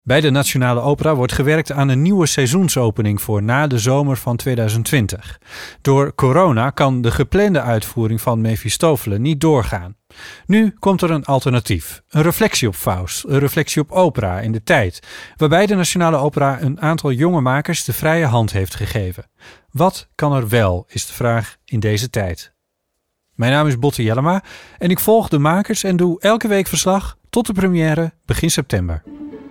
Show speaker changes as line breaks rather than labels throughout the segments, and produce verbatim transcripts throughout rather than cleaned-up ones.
Bij de Nationale Opera wordt gewerkt aan een nieuwe seizoensopening voor na de zomer van tweeduizend twintig. Door corona kan de geplande uitvoering van Mefistofele niet doorgaan. Nu komt er een alternatief. Een reflectie op Faust, een reflectie op opera in de tijd, waarbij de Nationale Opera een aantal jonge makers de vrije hand heeft gegeven. Wat kan er wel, is de vraag in deze tijd. Mijn naam is Botte Jellema en ik volg de makers en doe elke week verslag tot de première begin september.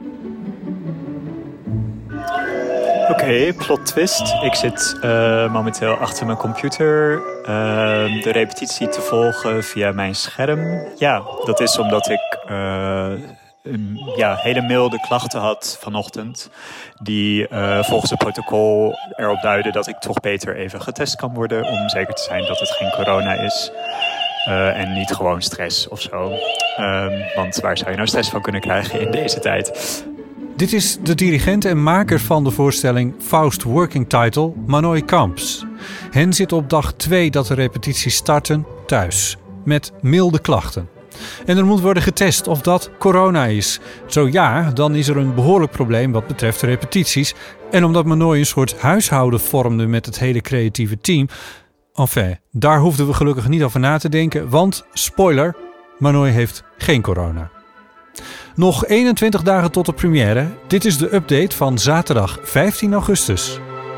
Oké, okay, plot twist. Ik zit uh, momenteel achter mijn computer uh, de repetitie te volgen via mijn scherm. Ja, dat is omdat ik uh, een, ja, hele milde klachten had vanochtend. Die uh, volgens het protocol erop duiden dat ik toch beter even getest kan worden. Om zeker te zijn dat het geen corona is. Uh, en niet gewoon stress of zo. Um, want waar zou je nou stress van kunnen krijgen in deze tijd?
Dit is de dirigent en maker van de voorstelling Faust Working Title, Manoj Kamps. Hen zit op dag twee dat de repetities starten thuis, met milde klachten. En er moet worden getest of dat corona is. Zo ja, dan is er een behoorlijk probleem wat betreft de repetities. En omdat Manoj een soort huishouden vormde met het hele creatieve team. Enfin, daar hoefden we gelukkig niet over na te denken, want, spoiler, Manoj heeft geen corona. Nog eenentwintig dagen tot de première. Dit is de update van zaterdag vijftien augustus.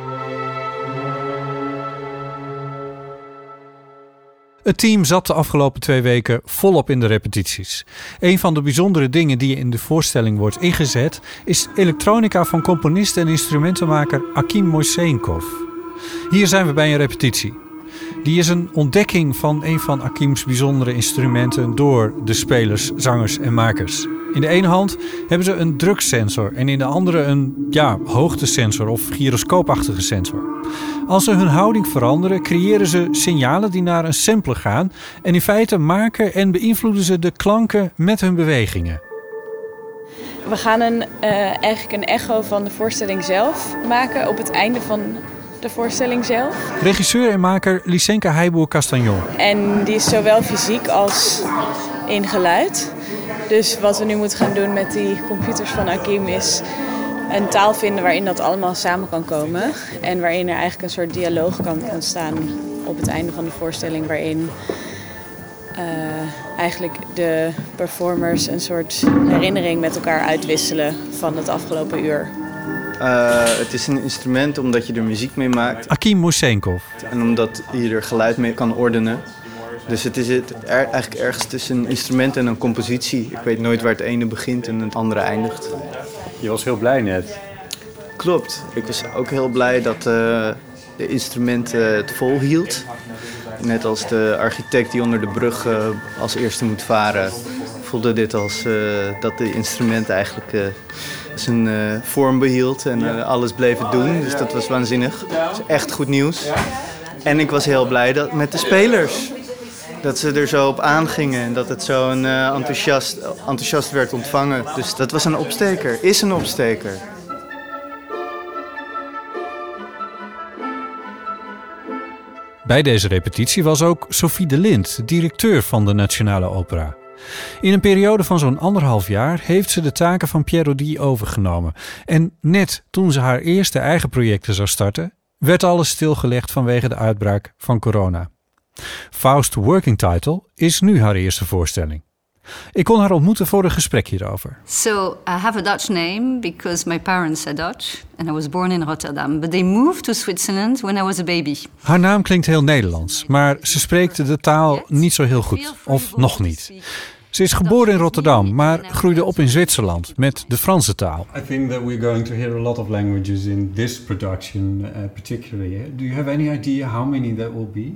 Het team zat de afgelopen twee weken volop in de repetities. Een van de bijzondere dingen die in de voorstelling wordt ingezet is elektronica van componist en instrumentenmaker Akim Moisenkov. Hier zijn we bij een repetitie. Die is een ontdekking van een van Akim's bijzondere instrumenten door de spelers, zangers en makers. In de ene hand hebben ze een druksensor en in de andere een ja, hoogtesensor of gyroscoopachtige sensor. Als ze hun houding veranderen, creëren ze signalen die naar een sampler gaan en in feite maken en beïnvloeden ze de klanken met hun bewegingen.
We gaan een, uh, eigenlijk een echo van de voorstelling zelf maken op het einde van de voorstelling zelf.
Regisseur en maker Lysenka Heiboer-Castagnon.
En die is zowel fysiek als in geluid. Dus wat we nu moeten gaan doen met die computers van Akim is een taal vinden waarin dat allemaal samen kan komen. En waarin er eigenlijk een soort dialoog kan ontstaan op het einde van de voorstelling. Waarin uh, eigenlijk de performers een soort herinnering met elkaar uitwisselen van het afgelopen uur.
Uh, het is een instrument omdat je er muziek mee maakt.
Akim Moisenkov.
En omdat je er geluid mee kan ordenen. Dus het is het er, eigenlijk ergens tussen een instrument en een compositie. Ik weet nooit waar het ene begint en het andere eindigt.
Je was heel blij net.
Klopt. Ik was ook heel blij dat uh, de instrument uh, het vol hield. Net als de architect die onder de brug uh, als eerste moet varen, voelde dit als uh, dat de instrument eigenlijk uh, zijn uh, vorm behield en uh, alles bleef het doen. Dus dat was waanzinnig. Dat is echt goed nieuws. En ik was heel blij dat, met de spelers. Dat ze er zo op aangingen en dat het zo een, uh, enthousiast, enthousiast werd ontvangen. Dus dat was een opsteker, is een opsteker.
Bij deze repetitie was ook Sophie de Lint, directeur van de Nationale Opera. In een periode van zo'n anderhalf jaar heeft ze de taken van Pierre Rodi overgenomen. En net toen ze haar eerste eigen projecten zou starten, werd alles stilgelegd vanwege de uitbraak van corona. Faust Working Title is nu haar eerste voorstelling. Ik kon haar ontmoeten voor een gesprek hierover.
So I have a Dutch name because my parents are Dutch and I was born in Rotterdam, but they moved to Switzerland when I was a baby.
Haar naam klinkt heel Nederlands, maar ze spreekt de taal niet zo heel goed, of nog niet. Ze is geboren in Rotterdam, maar groeide op in Zwitserland met de Franse taal.
I think that we're going to hear a lot of languages in this production, uh, particularly. Do you have any idea how many that will be?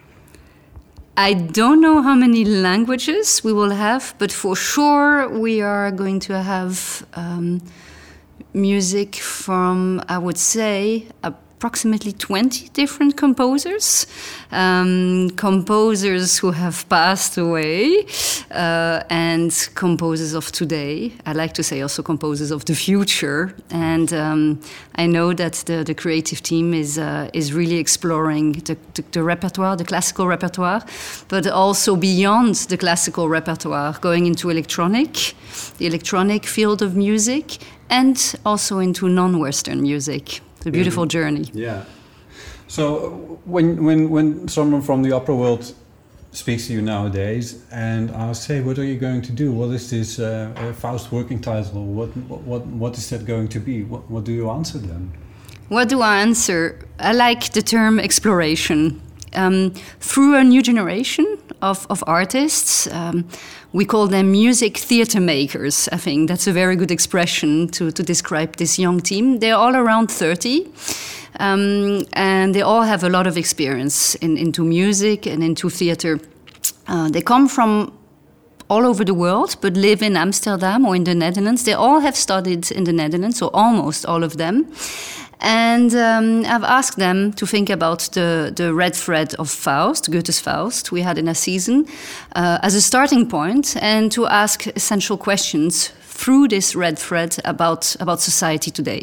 I don't know how many languages we will have, but for sure we are going to have um, music from, I would say, approximately twenty different composers, um, composers who have passed away, uh, and composers of today. I like to say also composers of the future. And um, I know that the, the creative team is uh, is really exploring the, the, the repertoire, the classical repertoire, but also beyond the classical repertoire, going into electronic, the electronic field of music, and also into non-Western music. It's a beautiful mm-hmm. journey.
Yeah. So when when when someone from the opera world speaks to you nowadays and asks, "Hey, what are you going to do? What is this uh, uh, Faust working title? What what what is that going to be?" What what do you answer them?
What do I answer? I like the term exploration. Um, through a new generation of, of artists, um, we call them music theatre makers. I think that's a very good expression to, to describe this young team. They're all around thirty, um, and they all have a lot of experience in, into music and into theatre. Uh, they come from all over the world, but live in Amsterdam or in the Netherlands. They all have studied in the Netherlands, so almost all of them. And um, I've asked them to think about the, the red thread of Faust, Goethe's Faust, we had in a season, uh, as a starting point, and to ask essential questions through this red thread about, about society today.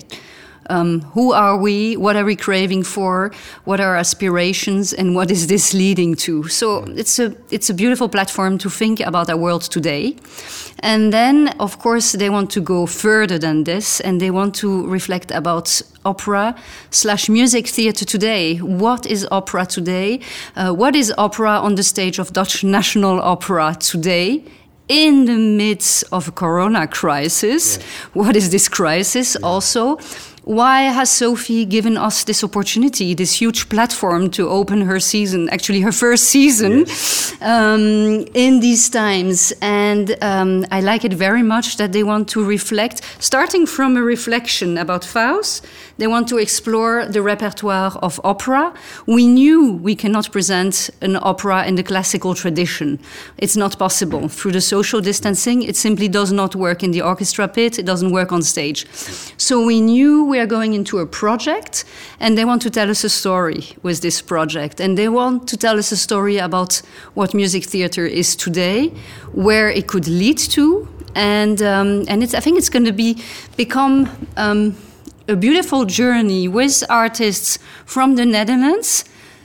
Um, who are we? What are we craving for? What are our aspirations? And what is this leading to? So it's a it's a beautiful platform to think about our world today. And then, of course, they want to go further than this, and they want to reflect about opera slash music theatre today. What is opera today? Uh, what is opera on the stage of Dutch National Opera today? In the midst of a corona crisis. Yeah. What is this crisis yeah. also? Why has Sophie given us this opportunity, this huge platform to open her season, actually her first season, yes. um, in these times? And um, I like it very much that they want to reflect, starting from a reflection about Faust, they want to explore the repertoire of opera. We knew we cannot present an opera in the classical tradition. It's not possible. Through the social distancing, it simply does not work in the orchestra pit, it doesn't work on stage. So we knew we are going into a project, and they want to tell us a story with this project, and they want to tell us a story about what music theatre is today, where it could lead to, and um, and it's I think it's going to be become um, a beautiful journey with artists from the Netherlands,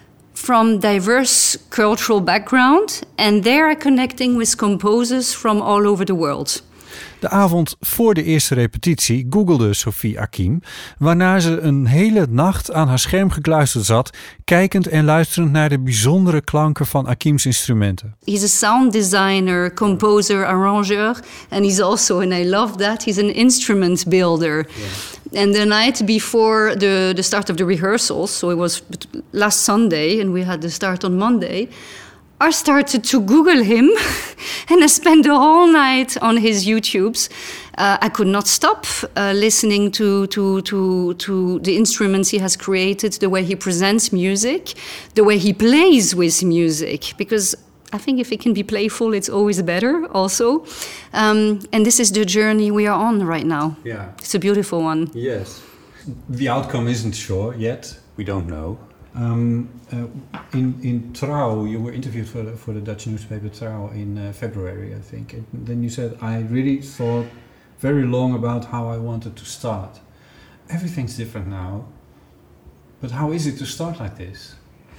from diverse cultural background, and they are connecting with composers from all over the world.
De avond voor de eerste repetitie googelde Sophie Akim, waarna ze een hele nacht aan haar scherm gekluisterd zat, kijkend en luisterend naar de bijzondere klanken van Akim's instrumenten.
He's a sound designer, composer, arrangeur, and he's also, and I love that, he's an instrument builder. Yeah. And the night before the, the start of the rehearsals, so it was last Sunday, and we had the start on Monday, I started to Google him, and I spent the whole night on his YouTubes. Uh, I could not stop uh, listening to, to, to, to the instruments he has created, the way he presents music, the way he plays with music, because I think if it can be playful, it's always better also. Um, and this is the journey we are on right now.
Yeah.
It's a beautiful one.
Yes. The outcome isn't sure yet. We don't know. Um, uh, in in Trouw, you were interviewed for the, for the Dutch newspaper Trouw in uh, February, I think. And then you said, I really thought very long about how I wanted to start. Everything's different now, but how is it to start like this?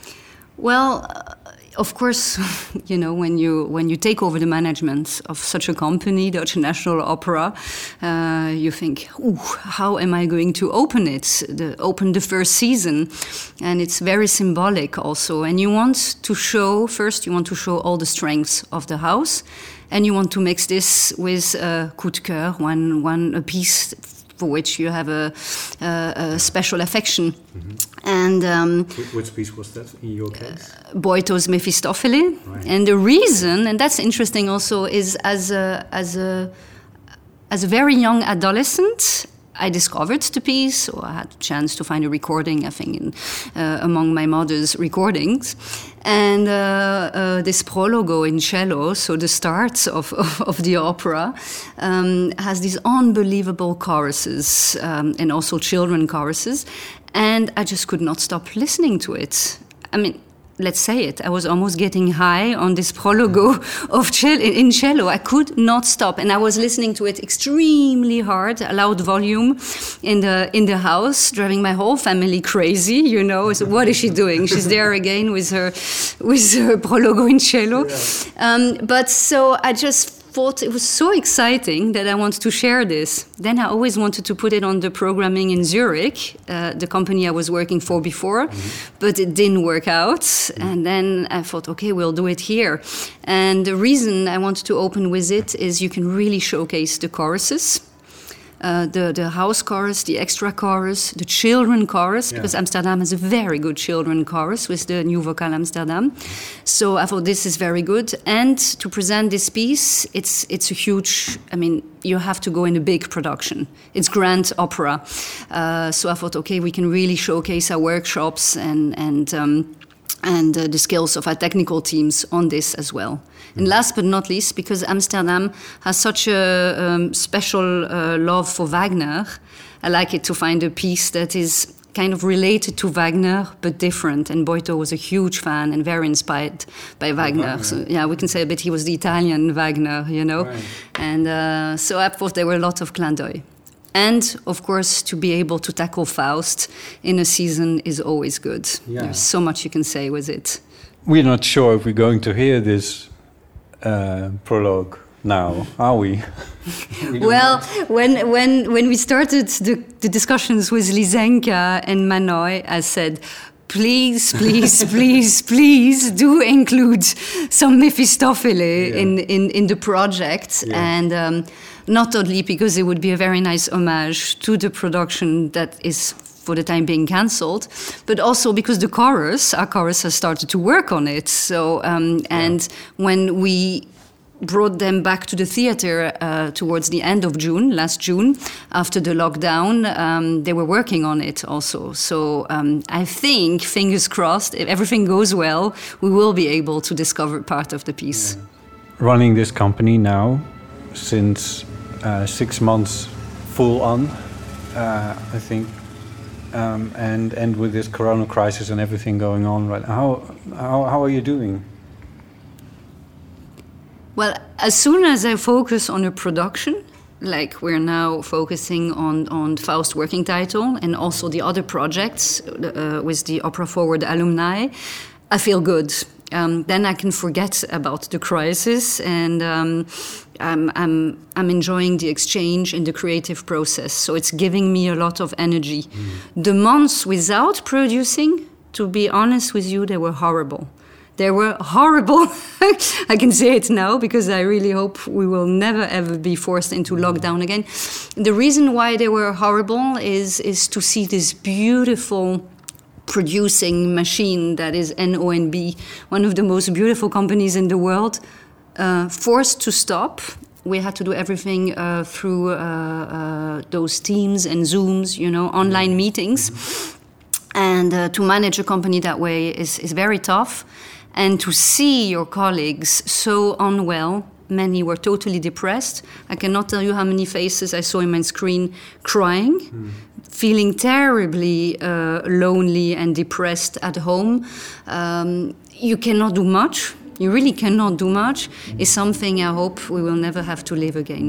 Well, uh, of course, you know, when you when you take over the management of such a company, Dutch National Opera, uh, you think, ooh, how am I going to open it, the, open the first season? And it's very symbolic also. And you want to show, first you want to show all the strengths of the house, and you want to mix this with uh, coup de cœur, one, one, a piece for which you have a, a, a special affection. Mm-hmm. And um,
which piece was that in your case?
Uh, Boito's Mephistopheles. Right. And the reason, and that's interesting also, is as a as a as a very young adolescent, I discovered the piece, or I had a chance to find a recording, I think, in, uh, among my mother's recordings. And uh, uh, this prologo in cello, so the start of, of, of the opera, um, has these unbelievable choruses, um, and also children choruses. And I just could not stop listening to it. I mean, let's say it, I was almost getting high on this prologo of cello, in cello. I could not stop, and I was listening to it extremely hard, a loud volume in the in the house, driving my whole family crazy. You know, so what is she doing? She's there again with her with her prologo in cello. Um, but so I just thought it was so exciting that I wanted to share this. Then I always wanted to put it on the programming in Zurich, uh, the company I was working for before, mm-hmm. but it didn't work out. Mm-hmm. And then I thought, okay, we'll do it here. And the reason I wanted to open with it is you can really showcase the choruses. Uh, the, the house chorus, the extra chorus, the children chorus, yeah. because Amsterdam has a very good children chorus with the New Vocal Amsterdam. So I thought this is very good. And to present this piece, it's it's a huge, I mean, you have to go in a big production. It's grand opera. Uh, so I thought, okay, we can really showcase our workshops and, and, um, and uh, the skills of our technical teams on this as well. And last but not least, because Amsterdam has such a um, special uh, love for Wagner, I like it to find a piece that is kind of related to Wagner, but different. And Boito was a huge fan and very inspired by Wagner. Wagner. So yeah, we can say a bit he was the Italian Wagner, you know. Right. And uh, so I thought there were a lot of clin d'œil. And, of course, to be able to tackle Faust in a season is always good. Yeah. There's so much you can say with it.
We're not sure if we're going to hear this Uh, prologue now, are we? we
well, when when when we started the, the discussions with Lysenka and Manoy, I said, please, please, please, please do include some Mephistopheles yeah. in, in, in the project. Yeah. And um, not only because it would be a very nice homage to the production that is for the time being cancelled, but also because the chorus, our chorus has started to work on it. So, um, and yeah. when we brought them back to the theater uh, towards the end of June, last June, after the lockdown, um, they were working on it also. So um, I think, fingers crossed, if everything goes well, we will be able to discover part of the piece.
Yeah. Running this company now, since uh, six months full on, uh, I think, Um, and and with this corona crisis and everything going on, right? How how how are you doing?
Well, as soon as I focus on a production, like we're now focusing on on Faust working title and also the other projects uh, with the Opera Forward alumni, I feel good. Um, then I can forget about the crisis, and um, I'm, I'm, I'm enjoying the exchange and the creative process. So it's giving me a lot of energy. Mm. The months without producing, to be honest with you, they were horrible. They were horrible. I can say it now because I really hope we will never ever be forced into lockdown again. The reason why they were horrible is, is to see this beautiful producing machine that is N O N B, one of the most beautiful companies in the world, uh, forced to stop. We had to do everything uh, through uh, uh, those Teams and Zooms, you know, online meetings. And uh, to manage a company that way is, is very tough. And to see your colleagues so unwell, many were totally depressed. I cannot tell you how many faces I saw in my screen crying, mm. feeling terribly uh, lonely and depressed at home. Um, you cannot do much. You really cannot do much. Is something I hope we will never have to live again.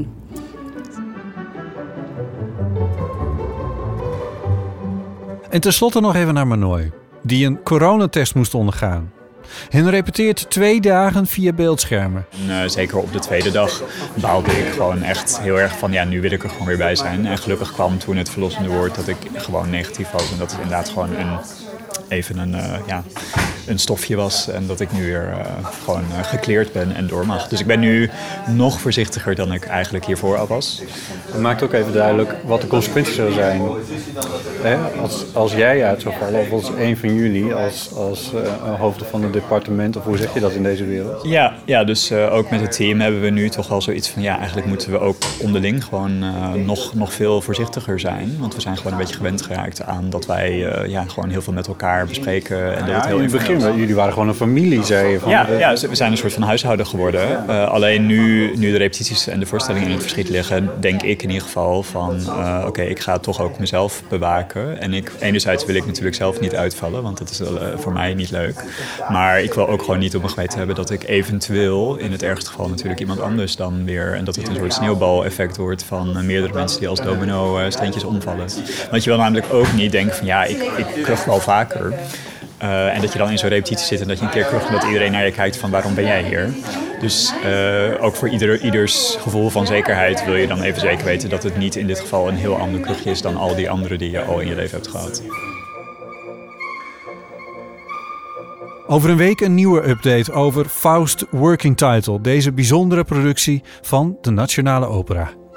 En tenslotte nog even naar Manoy, die een coronatest moest ondergaan. Hen repeteert twee dagen via beeldschermen.
En, uh, zeker op de tweede dag baalde ik gewoon echt heel erg van... ja, nu wil ik er gewoon weer bij zijn. En gelukkig kwam toen het verlossende woord dat ik gewoon negatief was. En dat is inderdaad gewoon een, even een, uh, ja, een stofje was en dat ik nu weer uh, gewoon uh, gekleerd ben en door mag. Dus ik ben nu nog voorzichtiger dan ik eigenlijk hiervoor al was.
Het maakt ook even duidelijk wat de consequenties zullen zijn. Hè? Als, als jij uit zou vallen, of als een van jullie, als, als uh, hoofden van het departement, of hoe zeg je dat in deze wereld?
Ja, ja dus uh, ook met het team hebben we nu toch wel zoiets van, ja, eigenlijk moeten we ook onderling gewoon uh, nog, nog veel voorzichtiger zijn. Want we zijn gewoon een beetje gewend geraakt aan dat wij uh, ja, gewoon heel veel met elkaar bespreken. En dat
ja,
het heel
in het begin, was. jullie waren gewoon een familie, zei je. Van
ja, ja, we zijn een soort van huishouden geworden. Uh, alleen nu, nu de repetities en de voorstellingen in het verschiet liggen, denk ik in ieder geval van, uh, oké, okay, ik ga toch ook mezelf bewaken. En ik, enerzijds wil ik natuurlijk zelf niet uitvallen, want dat is uh, voor mij niet leuk. Maar ik wil ook gewoon niet op mijn geweten hebben dat ik eventueel, in het ergste geval natuurlijk iemand anders dan weer, en dat het een soort sneeuwbaleffect wordt van uh, meerdere mensen die als domino uh, steentjes omvallen. Want je wil namelijk ook niet denken van, ja, ik, ik kuch wel vaker. Uh, en dat je dan in zo'n repetitie zit en dat je een keer kucht en dat iedereen naar je kijkt van, waarom ben jij hier? Dus uh, ook voor ieder, ieders gevoel van zekerheid wil je dan even zeker weten dat het niet in dit geval een heel ander kuchje is dan al die andere die je al in je leven hebt gehad.
Over een week een nieuwe update over Faust Working Title, deze bijzondere productie van de Nationale Opera.